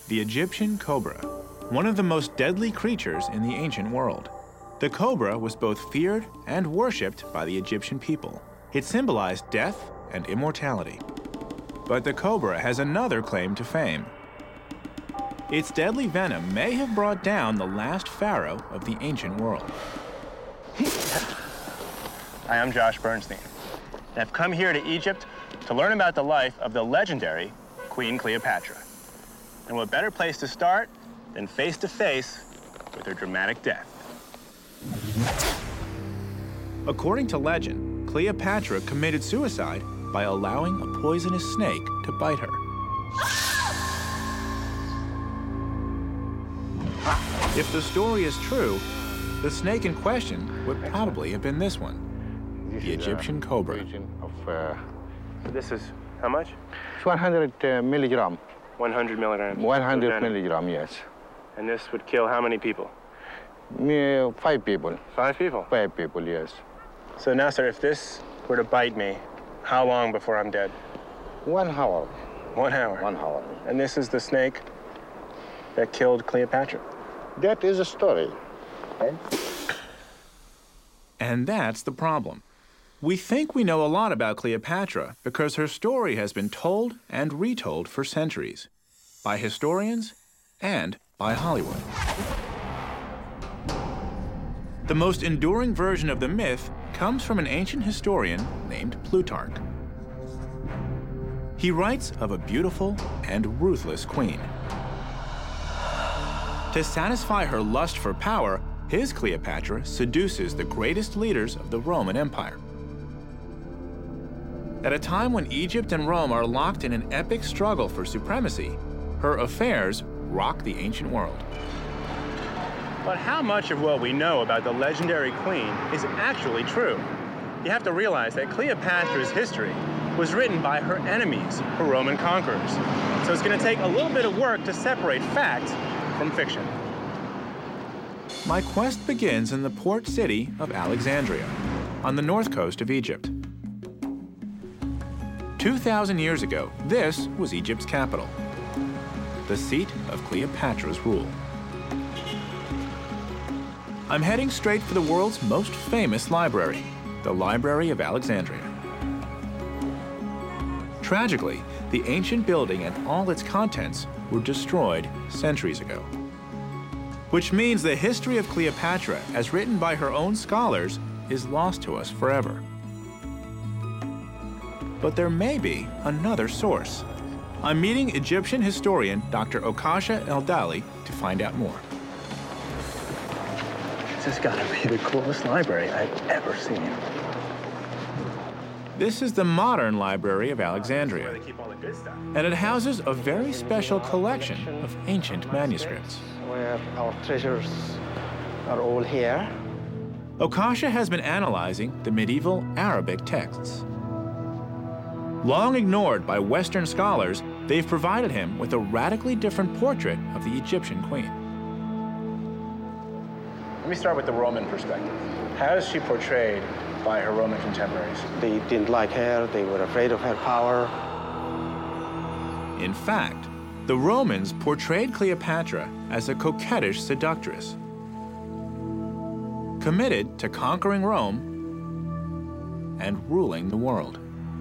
The Egyptian cobra, one of the most deadly creatures in the ancient world. The cobra was both feared and worshipped by the Egyptian people. It symbolized death and immortality. But the cobra has another claim to fame. Its deadly venom may have brought down the last pharaoh of the ancient world. Hi, I'm Josh Bernstein, and I've come here to Egypt to learn about the life of the legendary Queen Cleopatra. And what better place to start than face to face with her dramatic death. According to legend, Cleopatra committed suicide by allowing a poisonous snake to bite her. If the story is true, the snake in question would probably have been this one, the Egyptian cobra. This is how much? It's 100 milligram. 100 milligrams. 100 milligram, yes. And this would kill how many people? 5 people. 5 people? 5 people, yes. So now, sir, if this were to bite me, how long before I'm dead? 1 hour. 1 hour? 1 hour. And this is the snake that killed Cleopatra? That is a story. Okay? And that's the problem. We think we know a lot about Cleopatra because her story has been told and retold for centuries, by historians and by Hollywood. The most enduring version of the myth comes from an ancient historian named Plutarch. He writes of a beautiful and ruthless queen. To satisfy her lust for power, his Cleopatra seduces the greatest leaders of the Roman Empire. At a time when Egypt and Rome are locked in an epic struggle for supremacy, her affairs rock the ancient world. But how much of what we know about the legendary queen is actually true? You have to realize that Cleopatra's history was written by her enemies, her Roman conquerors. So it's going to take a little bit of work to separate fact from fiction. My quest begins in the port city of Alexandria, on the north coast of Egypt. 2,000 years ago, this was Egypt's capital, the seat of Cleopatra's rule. I'm heading straight for the world's most famous library, the Library of Alexandria. Tragically, the ancient building and all its contents were destroyed centuries ago. Which means the history of Cleopatra, as written by her own scholars, is lost to us forever. But there may be another source. I'm meeting Egyptian historian Dr. Okasha Eldali to find out more. This has got to be the coolest library I've ever seen. This is the modern Library of Alexandria, Where they keep all the good stuff. and it houses a very special collection of ancient manuscripts. Where our treasures are all here. Okasha has been analyzing the medieval Arabic texts. Long ignored by Western scholars, they've provided him with a radically different portrait of the Egyptian queen. Let me start with the Roman perspective. How is she portrayed by her Roman contemporaries? They didn't like her, they were afraid of her power. In fact, the Romans portrayed Cleopatra as a coquettish seductress, committed to conquering Rome and ruling the world.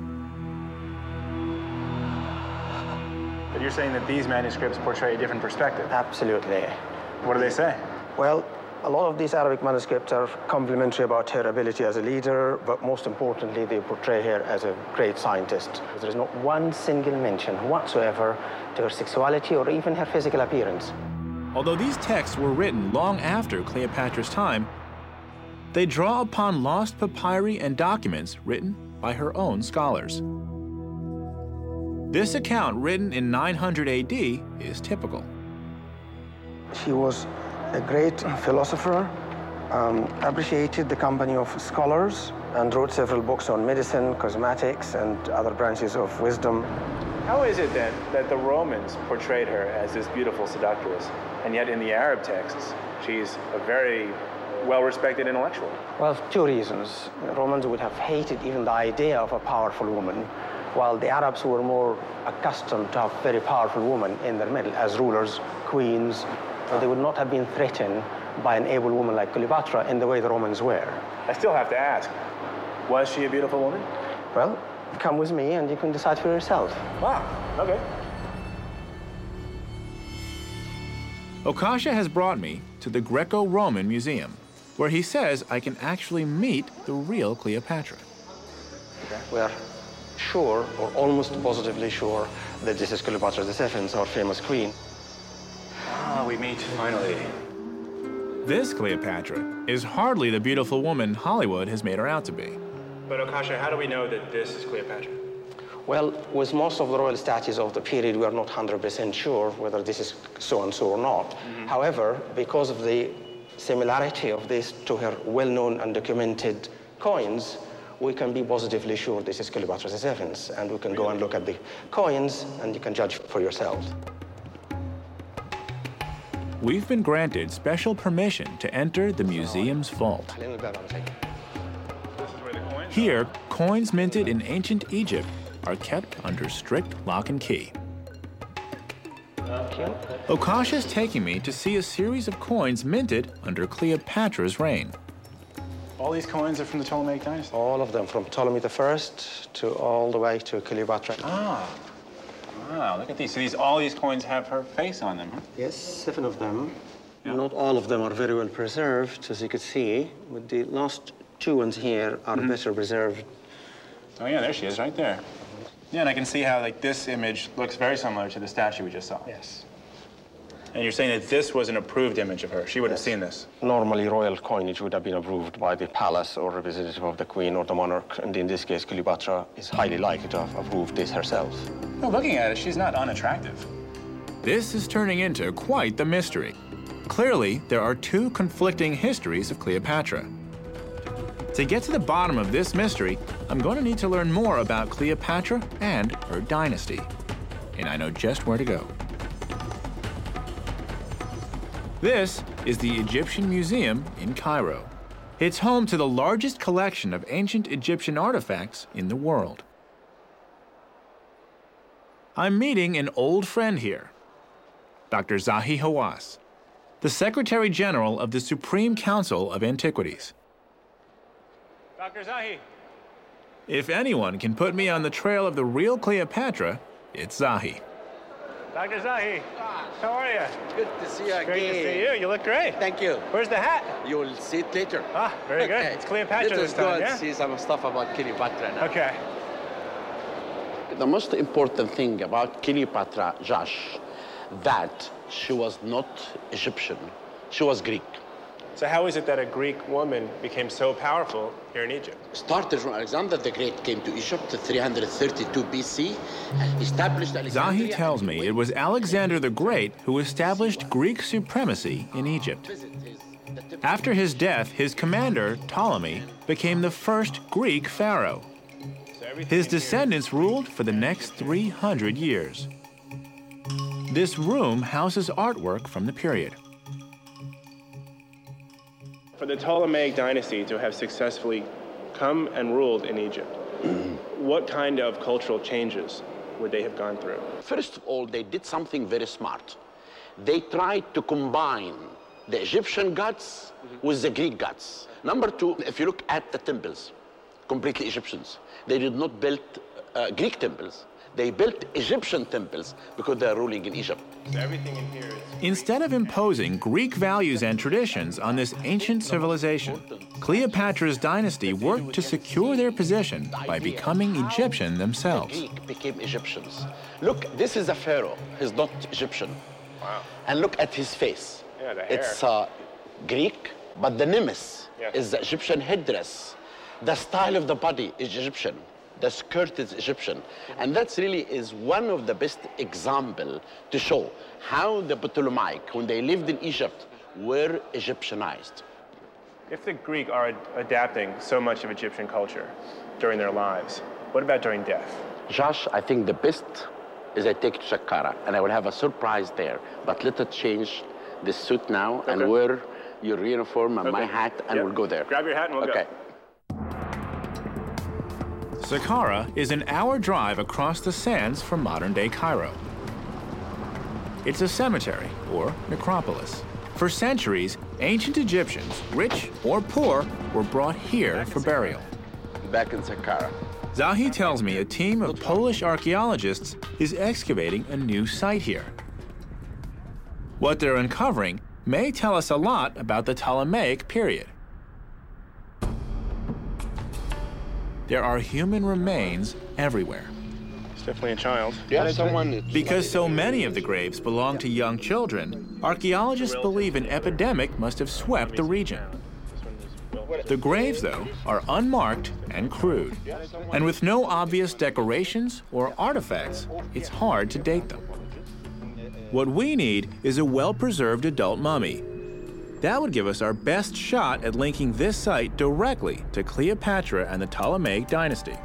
But you're saying that these manuscripts portray a different perspective. Absolutely. What do they say? Well, a lot of these Arabic manuscripts are complimentary about her ability as a leader, but most importantly, they portray her as a great scientist. There is not one single mention whatsoever to her sexuality or even her physical appearance. Although these texts were written long after Cleopatra's time, they draw upon lost papyri and documents written by her own scholars. This account, written in 900 AD, is typical. She was a great philosopher, appreciated the company of scholars, and wrote several books on medicine, cosmetics, and other branches of wisdom. How is it then that the Romans portrayed her as this beautiful seductress, and yet in the Arab texts, she's a very well-respected intellectual? Well, 2 reasons. The Romans would have hated even the idea of a powerful woman. while the Arabs were more accustomed to have very powerful women in their middle as rulers, queens. So they would not have been threatened by an able woman like Cleopatra in the way the Romans were. I still have to ask, was she a beautiful woman? Well, come with me and you can decide for yourself. Wow, okay. Okasha has brought me to the Greco-Roman Museum, where he says I can actually meet the real Cleopatra. We are sure, or almost positively sure, that this is Cleopatra II, our famous queen. Ah, we meet finally. This Cleopatra is hardly the beautiful woman Hollywood has made her out to be. But Okasha, how do we know that this is Cleopatra? Well, with most of the royal statues of the period, we are not 100% sure whether this is so-and-so or not. However, because of the similarity of this to her well-known and documented coins, we can be positively sure this is Cleopatra VII, and we can go and look at the coins, and you can judge for yourselves. We've been granted special permission to enter the museum's vault. This is where the coins Here, coins minted in ancient Egypt are kept under strict lock and key. Okasha's taking me to see a series of coins minted under Cleopatra's reign. All these coins are from the Ptolemaic dynasty? All of them, from Ptolemy I to all the way to Cleopatra. Ah, wow, look at these. So all these coins have her face on them, huh? Yes, 7 of them. Yeah. Not all of them are very well preserved, as you can see. But the last 2 ones here are better preserved. Oh yeah, there she is, right there. Yeah, and I can see how like this image looks very similar to the statue we just saw. Yes. And you're saying that this was an approved image of her. She would have seen this. Normally, royal coinage would have been approved by the palace or representative of the queen or the monarch. And in this case, Cleopatra is highly likely to have approved this herself. Well, looking at it, she's not unattractive. This is turning into quite the mystery. Clearly, there are 2 conflicting histories of Cleopatra. To get to the bottom of this mystery, I'm going to need to learn more about Cleopatra and her dynasty. And I know just where to go. This is the Egyptian Museum in Cairo. It's home to the largest collection of ancient Egyptian artifacts in the world. I'm meeting an old friend here, Dr. Zahi Hawass, the Secretary General of the Supreme Council of Antiquities. Dr. Zahi. If anyone can put me on the trail of the real Cleopatra, it's Zahi. Dr. Zahi, how are you? Good to see you again. Great to see you. You look great. Thank you. Where's the hat? You will see it later. Ah, very good. It's Cleopatra this time, yeah? See some stuff about Cleopatra now. Okay. The most important thing about Cleopatra, Josh, that she was not Egyptian. She was Greek. So how is it that a Greek woman became so powerful here in Egypt? Started from Alexander the Great, came to Egypt 332 BC, established Alexandria. Zahi tells me it was Alexander the Great who established Greek supremacy in Egypt. After his death, his commander, Ptolemy, became the first Greek pharaoh. His descendants ruled for the next 300 years. This room houses artwork from the period. For the Ptolemaic dynasty to have successfully come and ruled in Egypt, what kind of cultural changes would they have gone through? First of all, they did something very smart. They tried to combine the Egyptian gods with the Greek gods. Number 2, if you look at the temples, completely Egyptians. They did not build Greek temples. They built Egyptian temples because they're ruling in Egypt. So everything in here is... Instead of imposing Greek values and traditions on this ancient civilization, Cleopatra's dynasty worked to secure their position by becoming Egyptian themselves. The Greek became Egyptians. Look, this is a pharaoh. He's not Egyptian. Wow. And look at his face. Yeah, the hair. It's Greek, but the nimbus is the Egyptian headdress. The style of the body is Egyptian. The skirt is Egyptian. And that really is one of the best examples to show how the Ptolemaic, when they lived in Egypt, were Egyptianized. If the Greek are adapting so much of Egyptian culture during their lives, what about during death? Josh, I think the best is I take to Saqqara, and I will have a surprise there. But let us change this suit now and wear your uniform and my hat, and we'll go there. Grab your hat and we'll go. Saqqara is an hour drive across the sands from modern-day Cairo. It's a cemetery, or necropolis. For centuries, ancient Egyptians, rich or poor, were brought here for burial. Back in Saqqara. Zahi tells me a team of Polish archaeologists is excavating a new site here. What they're uncovering may tell us a lot about the Ptolemaic period. There are human remains everywhere. It's definitely a child. Yeah, someone. Because so many of the graves belong to young children, archaeologists believe an epidemic must have swept the region. The graves, though, are unmarked and crude. And with no obvious decorations or artifacts, it's hard to date them. What we need is a well-preserved adult mummy. That would give us our best shot at linking this site directly to Cleopatra and the Ptolemaic dynasty.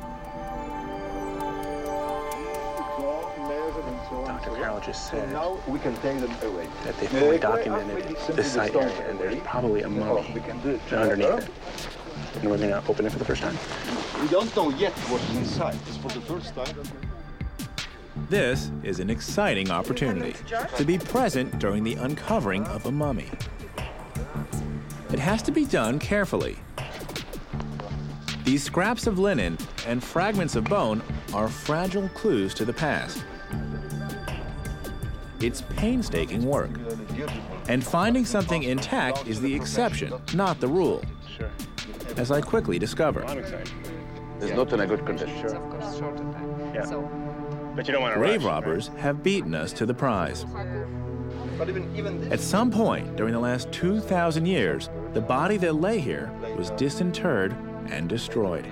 Dr. Carroll just said Now we can take them away. that they fully documented this site area, and there's probably a mummy underneath it. And we're gonna open it for the first time. We don't know yet what's inside. It's for the first time. This is an exciting opportunity to be present during the uncovering of a mummy. It has to be done carefully. These scraps of linen and fragments of bone are fragile clues to the past. It's painstaking work. And finding something intact is the exception, not the rule, Sure. as I quickly discover. I'm excited. It's not in a good condition. It's of course short of time. Yeah. So But you don't want to Grave rush, robbers have beaten us to the prize. But even At some point during the last 2,000 years, the body that lay here was disinterred and destroyed.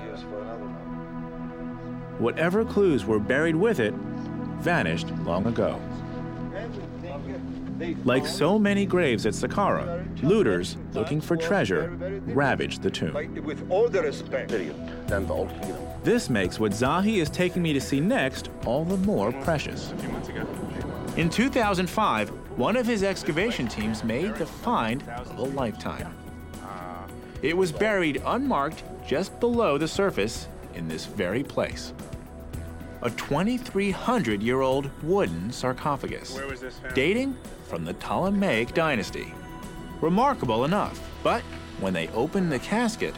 Whatever clues were buried with it vanished long ago. Like so many graves at Saqqara, looters looking for treasure ravaged the tomb. with all the respect. Then the Old Kingdom. This makes what Zahi is taking me to see next all the more precious. a few months ago. In 2005, one of his excavation teams made the find of a lifetime. It was buried unmarked just below the surface in this very place. A 2,300-year-old wooden sarcophagus, Where was this found? dating from the Ptolemaic dynasty. Remarkable enough, but when they opened the casket,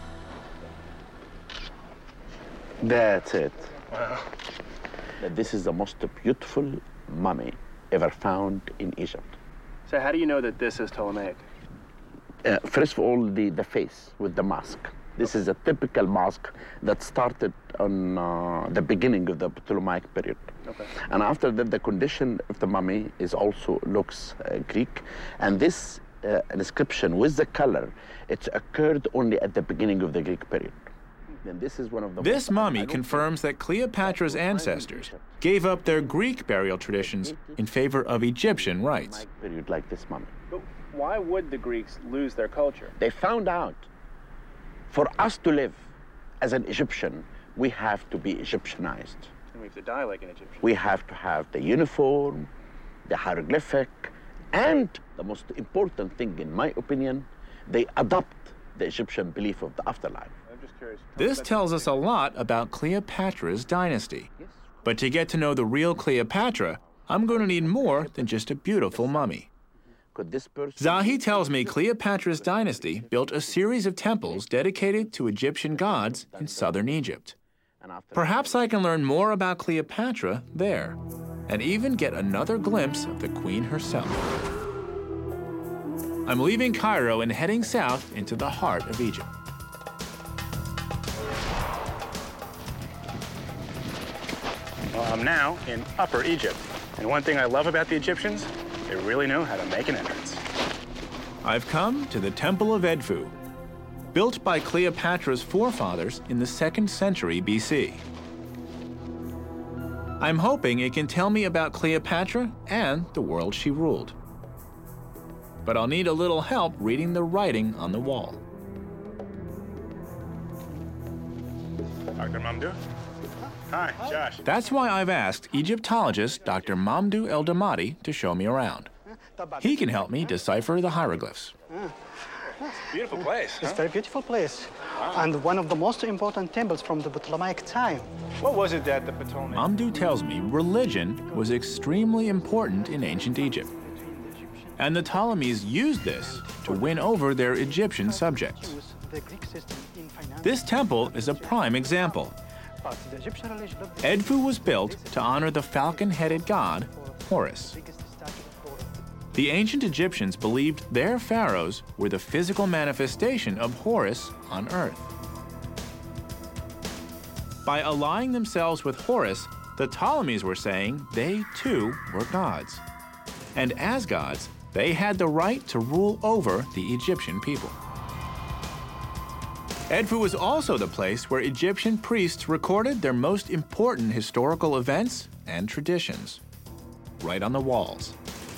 That's it. Wow. This is the most beautiful mummy ever found in Egypt. So how do you know that this is Ptolemaic? First of all, the face with the mask. This is a typical mask that started on the beginning of the Ptolemaic period. Okay. And after that, the condition of the mummy is also looks Greek. And this inscription with the color, it occurred only at the beginning of the Greek period. And this is one of the this most- I mummy don't confirms that Cleopatra's ancestors gave up their Greek burial traditions in favor of Egyptian rites. think period like this mummy. But why would the Greeks lose their culture? They found out for us to live as an Egyptian, we have to be Egyptianized. And we have to die like an Egyptian. We have to have the uniform, the hieroglyphic, and the most important thing, in my opinion, they adopt the Egyptian belief of the afterlife. I'm just curious. This tells us a lot about Cleopatra's dynasty. But to get to know the real Cleopatra, I'm going to need more than just a beautiful mummy. Could this person... Zahi tells me Cleopatra's dynasty built a series of temples dedicated to Egyptian gods in southern Egypt. And after Perhaps I can learn more about Cleopatra there, and even get another glimpse of the queen herself. I'm leaving Cairo and heading south into the heart of Egypt. Well, I'm now in Upper Egypt. And one thing I love about the Egyptians, they really know how to make an entrance. I've come to the Temple of Edfu, built by Cleopatra's forefathers in the 2nd century BC. I'm hoping it can tell me about Cleopatra and the world she ruled. But I'll need a little help reading the writing on the wall. Dr. Mamdouh? Hi, Josh. That's why I've asked Egyptologist Dr. Mamdouh El Damati to show me around. He can help me decipher the hieroglyphs. Beautiful place. It's a very beautiful place. And one of the most important temples from the Ptolemaic time. What was it that the Ptolemaic... Mamdouh tells me religion was extremely important in ancient Egypt. And the Ptolemies used this to win over their Egyptian subjects. This temple is a prime example. Edfu was built to honor the falcon-headed god, Horus. The ancient Egyptians believed their pharaohs were the physical manifestation of Horus on earth. By allying themselves with Horus, the Ptolemies were saying they too were gods. And as gods, they had the right to rule over the Egyptian people. Edfu was also the place where Egyptian priests recorded their most important historical events and traditions, right on the walls.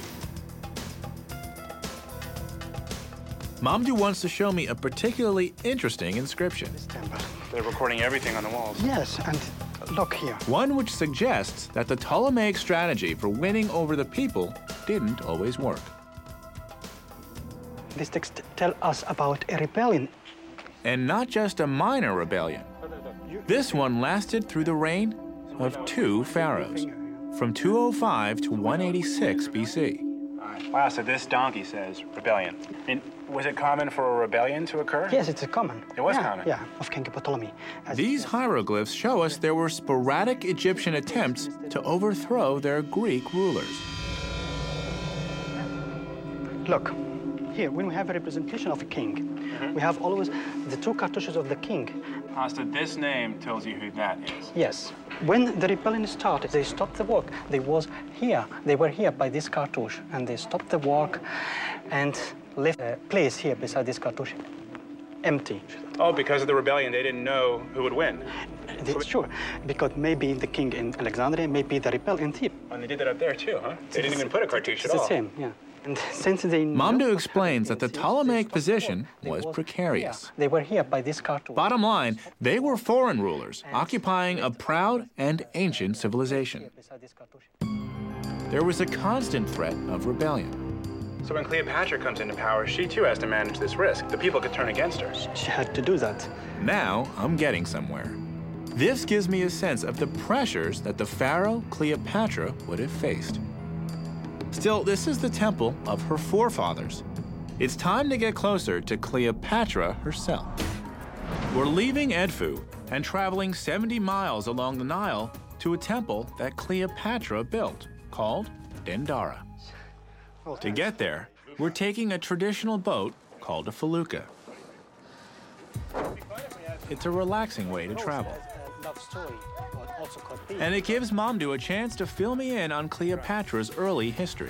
Mamdouh wants to show me a particularly interesting inscription. This temple. They're recording everything on the walls. Yes, and look here. One which suggests that the Ptolemaic strategy for winning over the people didn't always work. This text tells us about a rebellion. And not just a minor rebellion. This one lasted through the reign of two pharaohs, from 205 to 186 BC. Wow, so this donkey says rebellion. And was it common for a rebellion to occur? Yes, it's a common. It was common? Yeah, of King Ptolemy. These hieroglyphs show us there were sporadic Egyptian attempts to overthrow their Greek rulers. Look, here, when we have a representation of a king, we have always the two cartouches of the king. So this name tells you who that is. Yes. When the rebellion started, they stopped the work. They were here by this cartouche, and they stopped the work and left a place here beside this cartouche, empty. Oh, because of the rebellion, they didn't know who would win. That's sure, because maybe the king in Alexandria, maybe the rebel in Thebes. And they did that up there too, huh? They didn't even put a cartouche at all. It's the same, yeah. And since they Mamdouh explains that the Ptolemaic position was precarious. They were here by this cartouche. Bottom line, they were foreign rulers, occupying a proud and ancient civilization. There was a constant threat of rebellion. So when Cleopatra comes into power, she too has to manage this risk. The people could turn against her. She had to do that. Now I'm getting somewhere. This gives me a sense of the pressures that the pharaoh Cleopatra would have faced. Still, this is the temple of her forefathers. It's time to get closer to Cleopatra herself. We're leaving Edfu and traveling 70 miles along the Nile to a temple that Cleopatra built, called Dendara. To get there, we're taking a traditional boat called a felucca. It's a relaxing way to travel. And it gives Mamdouh a chance to fill me in on Cleopatra's early history.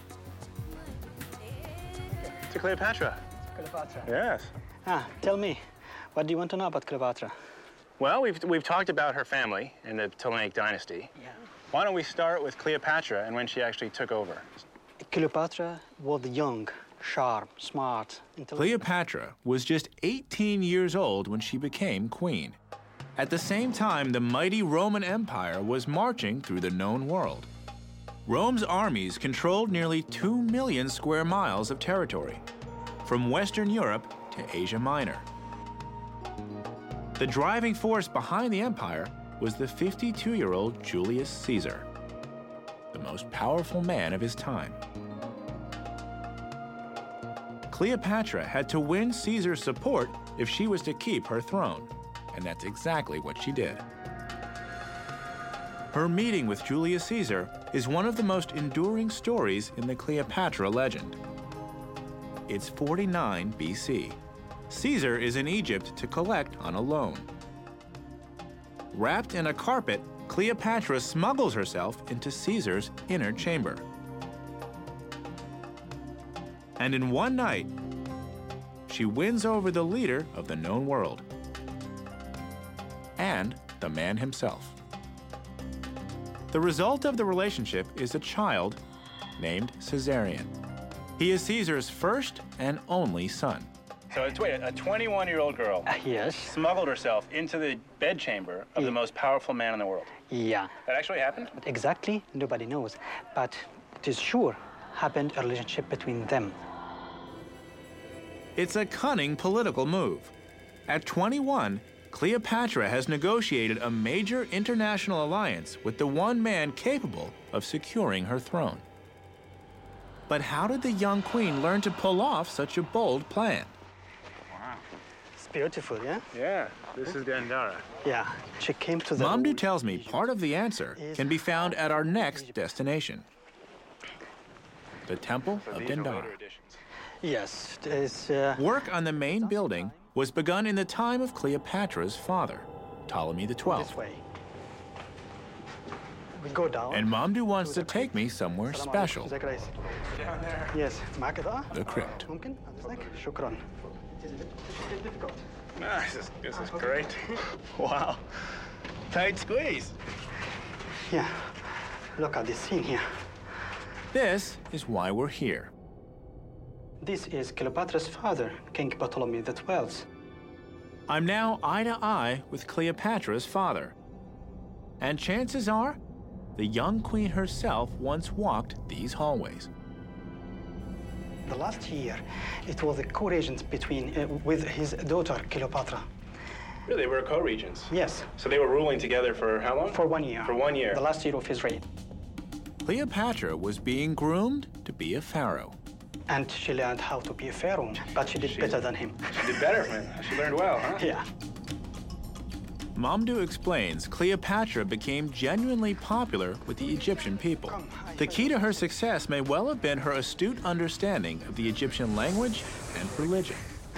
To Cleopatra. Cleopatra. Yes. Tell me, what do you want to know about Cleopatra? Well, we've talked about her family in the Ptolemaic dynasty. Yeah. Why don't we start with Cleopatra and when she actually took over? Cleopatra was young, sharp, smart, intelligent. Cleopatra was just 18 years old when she became queen. At the same time, the mighty Roman Empire was marching through the known world. Rome's armies controlled nearly 2 million square miles of territory, from Western Europe to Asia Minor. The driving force behind the empire was the 52-year-old Julius Caesar, the most powerful man of his time. Cleopatra had to win Caesar's support if she was to keep her throne. And that's exactly what she did. Her meeting with Julius Caesar is one of the most enduring stories in the Cleopatra legend. It's 49 BC. Caesar is in Egypt to collect on a loan. Wrapped in a carpet, Cleopatra smuggles herself into Caesar's inner chamber. And in one night, she wins over the leader of the known world, and the man himself. The result of the relationship is a child named Caesarion. He is Caesar's first and only son. So wait, a 21-year-old girl Yes. smuggled herself into the bedchamber of the most powerful man in the world. Yeah. That actually happened? But exactly, nobody knows. But it is sure happened a relationship between them. It's a cunning political move. At 21, Cleopatra has negotiated a major international alliance with the one man capable of securing her throne. But how did the young queen learn to pull off such a bold plan? It's beautiful, yeah? Yeah, this is Dendara. Yeah, she came to the... Mamdouh tells me part of the answer can be found at our next destination, the Temple of Dendara. Yes, it's... Work on the main building was begun in the time of Cleopatra's father, Ptolemy XII. This way. We go down. And Mamdouh wants to take me somewhere السلام special, عليكم. ازيك يا ريس؟ Down there. Yes, معك إضاءة؟ the crypt. ممكن؟ أذنك؟ شكرا. This is great. Wow. Tight squeeze. Yeah, look at this scene here. This is why we're here. This is Cleopatra's father, King Ptolemy XII. I'm now eye to eye with Cleopatra's father. And chances are, the young queen herself once walked these hallways. The last year, it was a co-regent with his daughter, Cleopatra. Really, we're co-regents. Yes, So they were ruling together for how long? for 1 year. For 1 year. The last year of his reign. Cleopatra was being groomed to be a pharaoh. And she learned how to be a pharaoh, but she did better than him. She did better, man. She learned well, huh? Yeah. Mamdouh explains Cleopatra became genuinely popular with the Egyptian people. The key to her success may well have been her astute understanding of the Egyptian language and religion.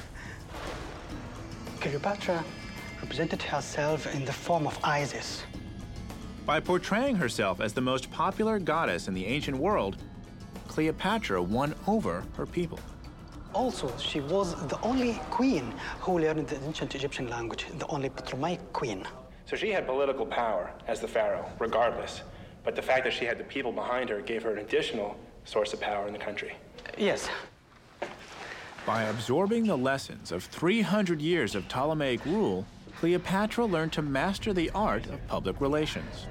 Cleopatra represented herself in the form of Isis. By portraying herself as the most popular goddess in the ancient world, Cleopatra won over her people. Also, she was the only queen who learned the ancient Egyptian language, the only Ptolemaic queen. So she had political power as the pharaoh, regardless. But the fact that she had the people behind her gave her an additional source of power in the country. Yes. By absorbing the lessons of 300 years of Ptolemaic rule, Cleopatra learned to master the art of public relations.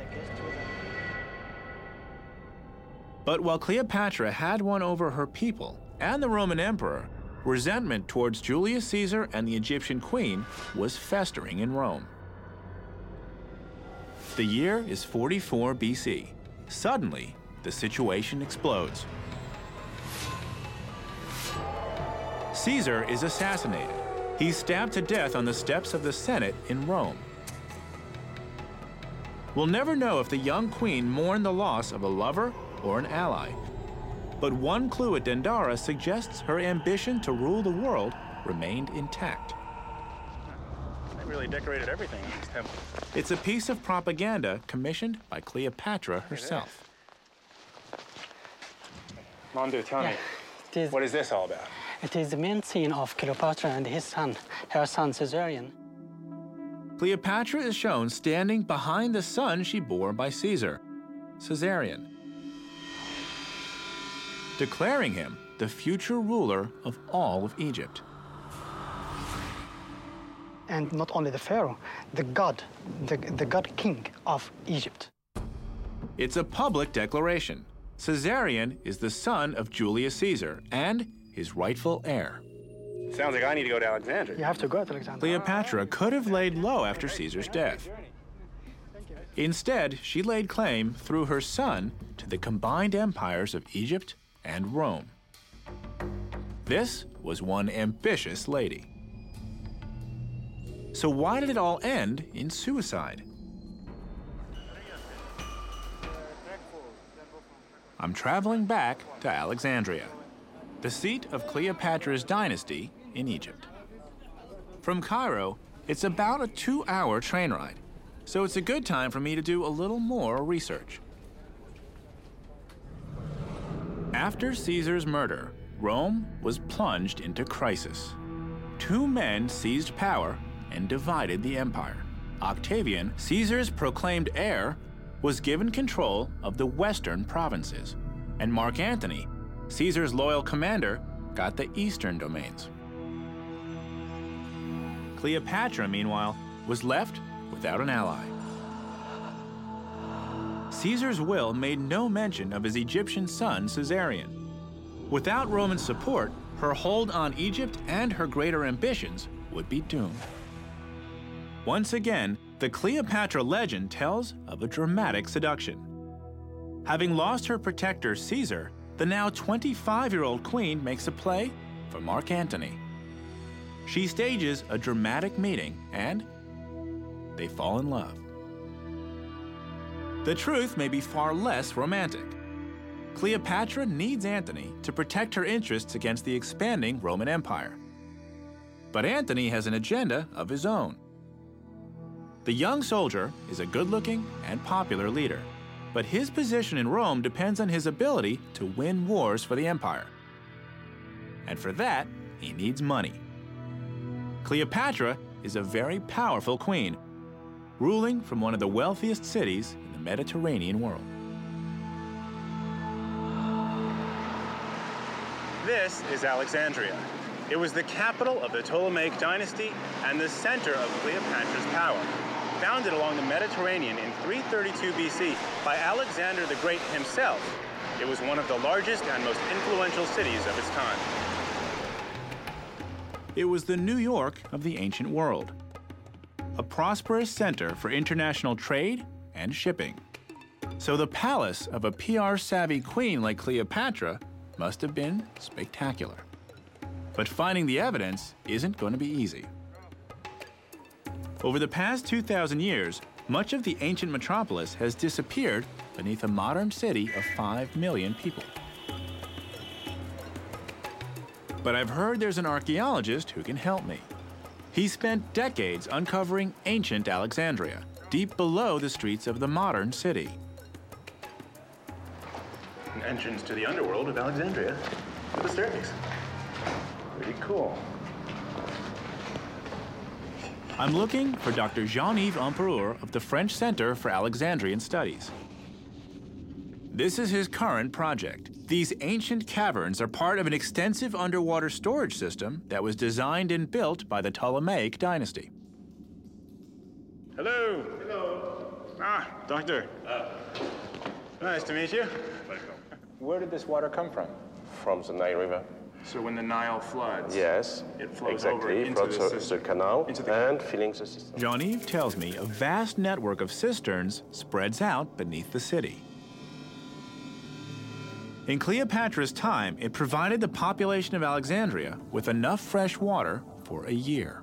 But while Cleopatra had won over her people and the Roman emperor, resentment towards Julius Caesar and the Egyptian queen was festering in Rome. The year is 44 BC. Suddenly, the situation explodes. Caesar is assassinated. He's stabbed to death on the steps of the Senate in Rome. We'll never know if the young queen mourned the loss of a lover or an ally. But one clue at Dendara suggests her ambition to rule the world remained intact. They really decorated everything in this temple. It's a piece of propaganda commissioned by Cleopatra herself. Mamdouh, tell me, It is, what is this all about? it is the main scene of Cleopatra and his son, her son Caesarion. Cleopatra is shown standing behind the son she bore by Caesar, Caesarion, declaring him the future ruler of all of Egypt. And not only the pharaoh, the god king of Egypt. It's a public declaration. Caesarion is the son of Julius Caesar and his rightful heir. Sounds like I need to go to Alexandria. You have to go to Alexandria. Cleopatra could have laid low after Caesar's death. Instead, she laid claim through her son to the combined empires of Egypt and Rome. This was one ambitious lady. So why did it all end in suicide? I'm traveling back to Alexandria, the seat of Cleopatra's dynasty in Egypt. From Cairo, it's about a 2-hour train ride, so it's a good time for me to do a little more research. After Caesar's murder, Rome was plunged into crisis. 2 men seized power and divided the empire. Octavian, Caesar's proclaimed heir, was given control of the western provinces, and Mark Antony, Caesar's loyal commander, got the eastern domains. Cleopatra, meanwhile, was left without an ally. Caesar's will made no mention of his Egyptian son, Caesarion. Without Roman support, her hold on Egypt and her greater ambitions would be doomed. Once again, the Cleopatra legend tells of a dramatic seduction. Having lost her protector, Caesar, the now 25-year-old queen makes a play for Mark Antony. She stages a dramatic meeting, and they fall in love. The truth may be far less romantic. Cleopatra needs Antony to protect her interests against the expanding Roman Empire. But Antony has an agenda of his own. The young soldier is a good-looking and popular leader, but his position in Rome depends on his ability to win wars for the empire. And for that, he needs money. Cleopatra is a very powerful queen, ruling from one of the wealthiest cities in the Mediterranean world. This is Alexandria. It was the capital of the Ptolemaic dynasty and the center of Cleopatra's power. Founded along the Mediterranean in 332 BC by Alexander the Great himself, it was one of the largest and most influential cities of its time. It was the New York of the ancient world, a prosperous center for international trade and shipping. So the palace of a PR-savvy queen like Cleopatra must have been spectacular. But finding the evidence isn't going to be easy. Over the past 2,000 years, much of the ancient metropolis has disappeared beneath a modern city of 5 million people. But I've heard there's an archaeologist who can help me. He spent decades uncovering ancient Alexandria, deep below the streets of the modern city. An entrance to the underworld of Alexandria with a staircase. Pretty cool. I'm looking for Dr. Jean-Yves Empereur of the French Center for Alexandrian Studies. This is his current project. These ancient caverns are part of an extensive underwater storage system that was designed and built by the Ptolemaic dynasty. Hello. Hello. Ah, doctor. Nice to meet you. Welcome. Where did this water come from? From the Nile River. So when the Nile floods, Yes, it flows exactly. over into Floods the system. the canal Into the and filling the system. Jean-Yves tells me a vast network of cisterns spreads out beneath the city. In Cleopatra's time, it provided the population of Alexandria with enough fresh water for a year.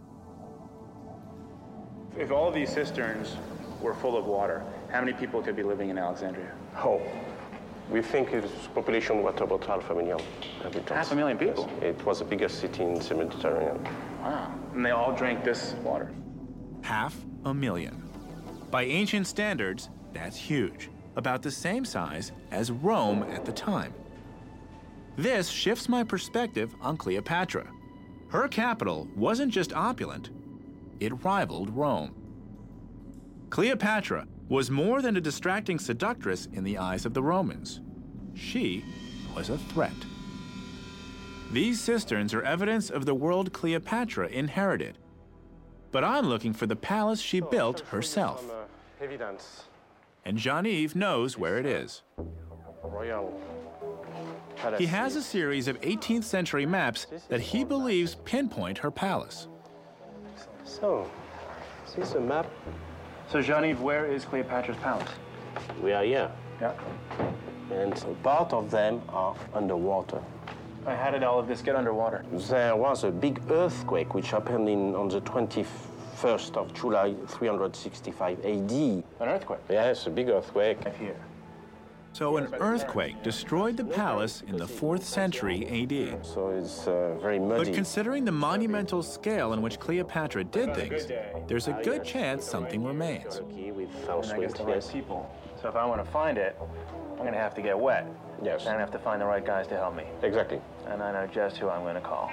If all of these cisterns were full of water, how many people could be living in Alexandria? Oh, we think its population was about 500,000 inhabitants. 500,000 people? Yes. It was the biggest city in the Mediterranean. Wow. And they all drank this water. 500,000. By ancient standards, that's huge, about the same size as Rome at the time. This shifts my perspective on Cleopatra. Her capital wasn't just opulent, it rivaled Rome. Cleopatra was more than a distracting seductress in the eyes of the Romans. She was a threat. These cisterns are evidence of the world Cleopatra inherited. But I'm looking for the palace she built herself. Evidence. And Jean-Yves knows where it is. Royal palace. He has a series of 18th century maps that he believes pinpoint her palace. So, this is a map. So Jean-Yves, where is Cleopatra's palace? We are here, Yeah. and part of them are underwater. How did all of this get underwater? There was a big earthquake which happened on the 21st of July, 365 AD. An earthquake? Yes, a big earthquake. Right here. So an earthquake destroyed the palace in the 4th century AD. So it's very But muddy. considering the monumental scale in which Cleopatra did things, there's a good chance something remains. Turkey with And house I guess wind, the right yes. people. So if I want to find it, I'm going to have to get wet. Yes. And I have to find the right guys to help me. Exactly. And I know just who I'm going to call.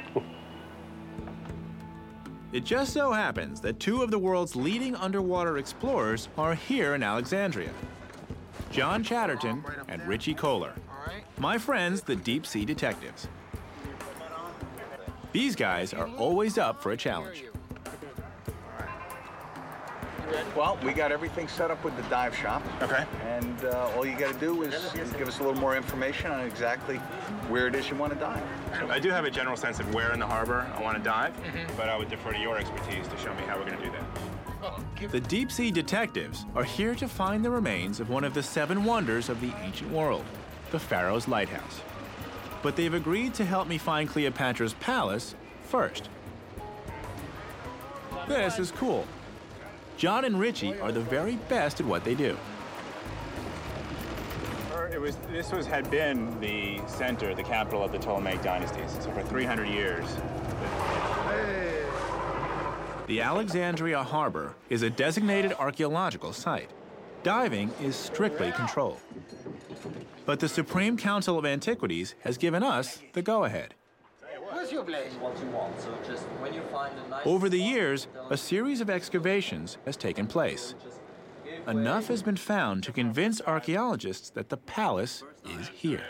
It just so happens that two of the world's leading underwater explorers are here in Alexandria. John Chatterton and Richie Kohler. My friends, the deep sea detectives. These guys are always up for a challenge. Well, we got everything set up with the dive shop. Okay. And all you got to do is give us a little more information on exactly where it is you want to dive. I do have a general sense of where in the harbor I want to dive, but I would defer to your expertise to show me how we're going to do that. The deep-sea detectives are here to find the remains of one of the 7 wonders of the ancient world, the Pharaoh's Lighthouse. But they've agreed to help me find Cleopatra's palace first. This is cool. John and Richie are the very best at what they do. This had been the center, the capital of the Ptolemaic dynasties. So for 300 years. The Alexandria Harbor is a designated archaeological site. Diving is strictly controlled. But the Supreme Council of Antiquities has given us the go-ahead. What's your place? What you want. So just when you find a nice Over the years, a series of excavations has taken place. Enough has been found to convince archaeologists that the palace is here.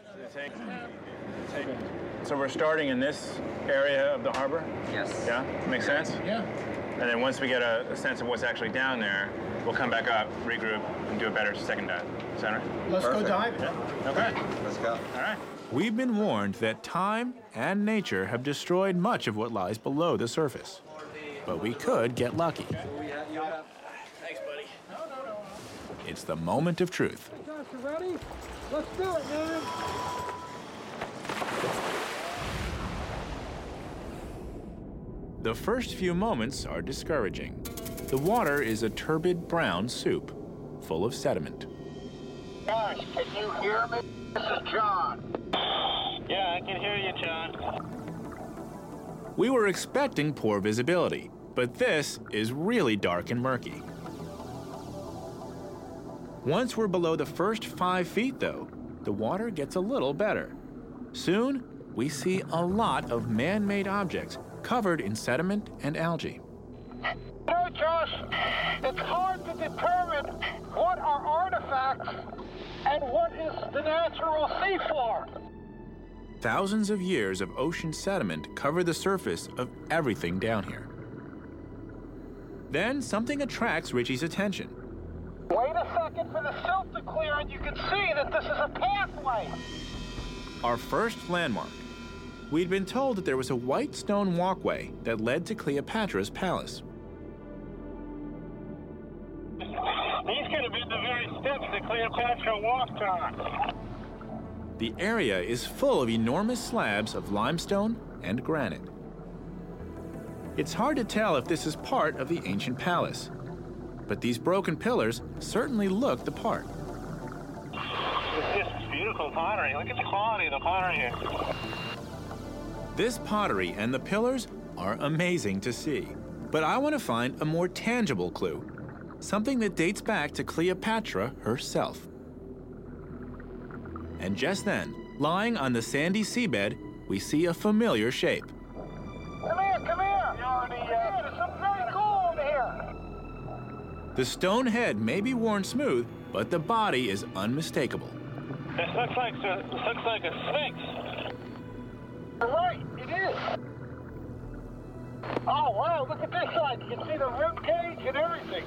So we're starting in this area of the harbor? Yes. Yeah? Make sense? Yeah. And then once we get a sense of what's actually down there, we'll come back up, regroup, and do a better second dive. Is that right? Let's go diving. Yeah. Okay. Let's go. All right. We've been warned that time and nature have destroyed much of what lies below the surface. But we could get lucky. Thanks, buddy. It's the moment of truth. Hey, Josh, you ready? Let's do it, man. The first few moments are discouraging. The water is a turbid brown soup, full of sediment. Josh, can you hear me? This is John. Yeah, I can hear you, John. We were expecting poor visibility, but this is really dark and murky. Once we're below the first 5 feet, though, the water gets a little better. Soon, we see a lot of man-made objects covered in sediment and algae. No, Josh, it's hard to determine what are artifacts and what is the natural seafloor. Thousands of years of ocean sediment cover the surface of everything down here. Then something attracts Richie's attention. Wait a second for the silt to clear and you can see that this is a pathway. Our first landmark. We'd been told that there was a white stone walkway that led to Cleopatra's palace. These could have been the very steps that Cleopatra walked on. The area is full of enormous slabs of limestone and granite. It's hard to tell if this is part of the ancient palace, but these broken pillars certainly look the part. It's just beautiful pottery. Look at the quality of the pottery here. This pottery and the pillars are amazing to see, but I want to find a more tangible clue, something that dates back to Cleopatra herself. And just then, lying on the sandy seabed, we see a familiar shape. Come here, come here. There's something very cool over here. The stone head may be worn smooth, but the body is unmistakable. This looks like a sphinx. You're right, it is. Oh, wow, look at this side. You can see the rib cage and everything.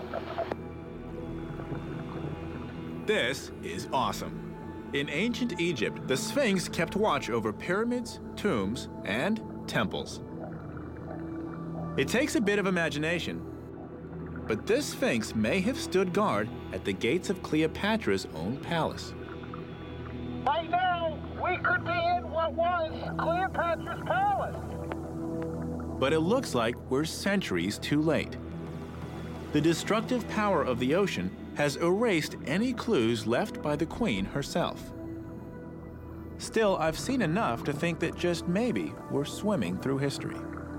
This is awesome. In ancient Egypt, the Sphinx kept watch over pyramids, tombs, and temples. It takes a bit of imagination, but this Sphinx may have stood guard at the gates of Cleopatra's own palace. Right now, we could be in what was Cleopatra's palace. But it looks like we're centuries too late. The destructive power of the ocean has erased any clues left by the Queen herself. Still, I've seen enough to think that just maybe we're swimming through history.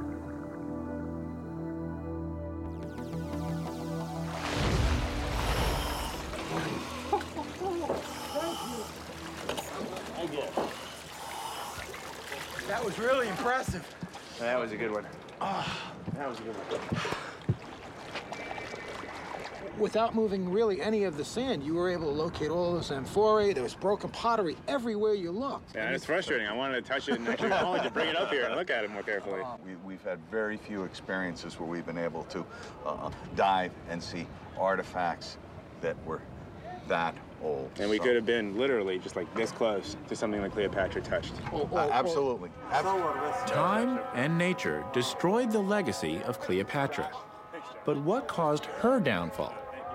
That was really impressive. That was a good one. That was a good one. without moving really any of the sand, you were able to locate all those amphorae. There was broken pottery everywhere you looked. Yeah, and it's frustrating. I wanted to touch it and actually I wanted to bring it up here and look at it more carefully. We've had very few experiences where we've been able to dive and see artifacts that were that old. And we could have been literally just like this close to something that Cleopatra touched. Absolutely. Time and nature destroyed the legacy of Cleopatra. But what caused her downfall?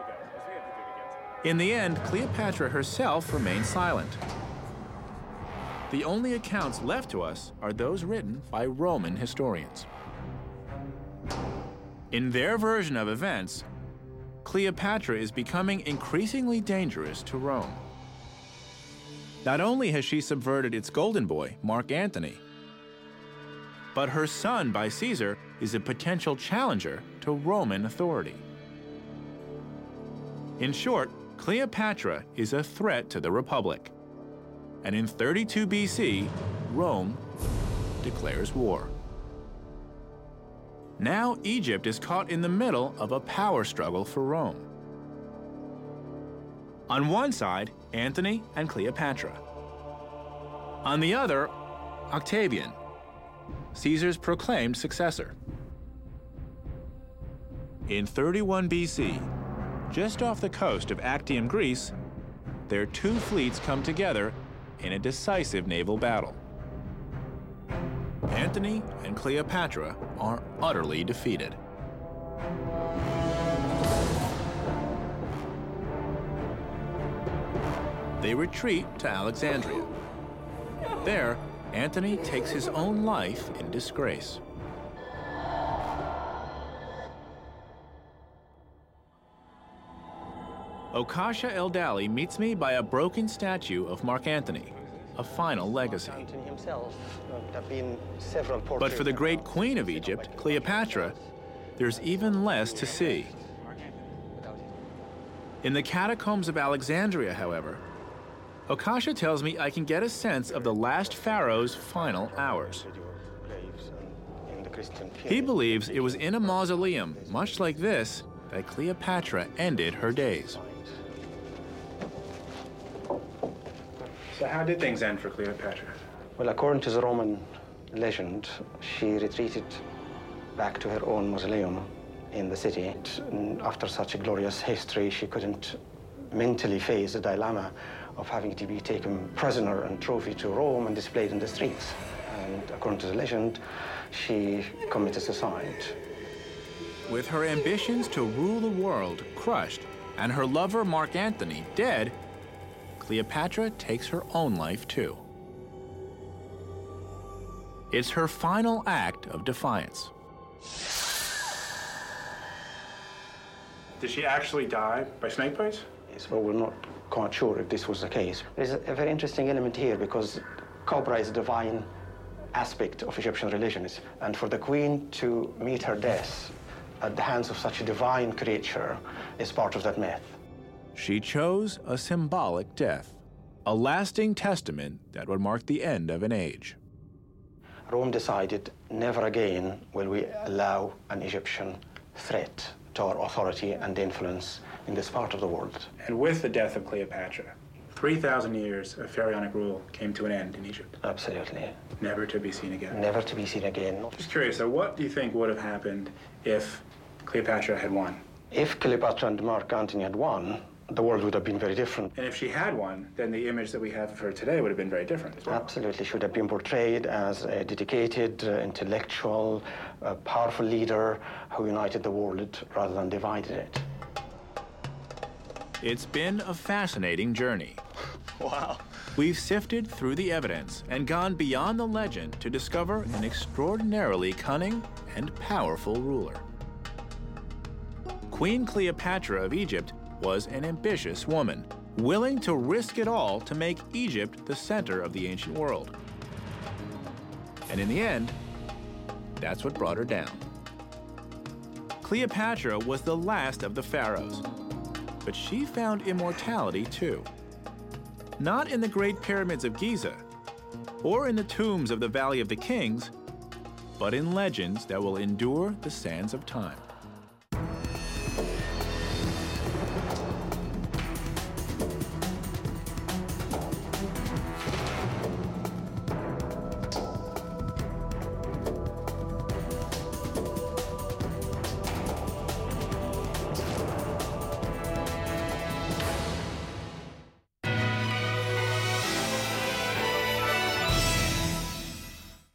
In the end, Cleopatra herself remained silent. The only accounts left to us are those written by Roman historians. In their version of events, Cleopatra is becoming increasingly dangerous to Rome. Not only has she subverted its golden boy, Mark Antony, but her son by Caesar is a potential challenger to Roman authority. In short, Cleopatra is a threat to the Republic. And in 32 BC, Rome declares war. Now Egypt is caught in the middle of a power struggle for Rome. On one side, Antony and Cleopatra. On the other, Octavian, Caesar's proclaimed successor. In 31 BC, just off the coast of Actium, Greece, their two fleets come together in a decisive naval battle. Antony and Cleopatra are utterly defeated. They retreat to Alexandria. There, Antony takes his own life in disgrace. Okasha Eldali meets me by a broken statue of Mark Antony, a final legacy. Antony himself, there have been several portraits. But for the great queen of Egypt, Cleopatra, there's even less to see. In the catacombs of Alexandria, however, Okasha tells me I can get a sense of the last pharaoh's final hours. He believes it was in a mausoleum, much like this, that Cleopatra ended her days. So how did things end for Cleopatra? Well, according to the Roman legend, she retreated back to her own mausoleum in the city. And after such a glorious history, she couldn't mentally face the dilemma of having to be taken prisoner and trophy to Rome and displayed in the streets. And according to the legend, she committed suicide. With her ambitions to rule the world crushed and her lover Mark Antony dead, Cleopatra takes her own life too. It's her final act of defiance. Did she actually die by snake bites? Yes, well, we're not quite sure if this was the case. There's a very interesting element here because cobra is a divine aspect of Egyptian religion. And for the queen to meet her death at the hands of such a divine creature is part of that myth. She chose a symbolic death, a lasting testament that would mark the end of an age. Rome decided never again will we allow an Egyptian threat to our authority and influence in this part of the world. And with the death of Cleopatra, 3,000 years of pharaonic rule came to an end in Egypt. Absolutely. Never to be seen again. Never to be seen again. Just curious, so what do you think would have happened if Cleopatra had won? If Cleopatra and Mark Antony had won, the world would have been very different. And if she had won, then the image that we have of her today would have been very different as well. Absolutely. She would have been portrayed as a dedicated, intellectual, powerful leader who united the world rather than divided it. It's been a fascinating journey. Wow. We've sifted through the evidence and gone beyond the legend to discover an extraordinarily cunning and powerful ruler. Queen Cleopatra of Egypt was an ambitious woman, willing to risk it all to make Egypt the center of the ancient world. And in the end, that's what brought her down. Cleopatra was the last of the pharaohs, but she found immortality too. Not in the Great Pyramids of Giza, or in the tombs of the Valley of the Kings, but in legends that will endure the sands of time.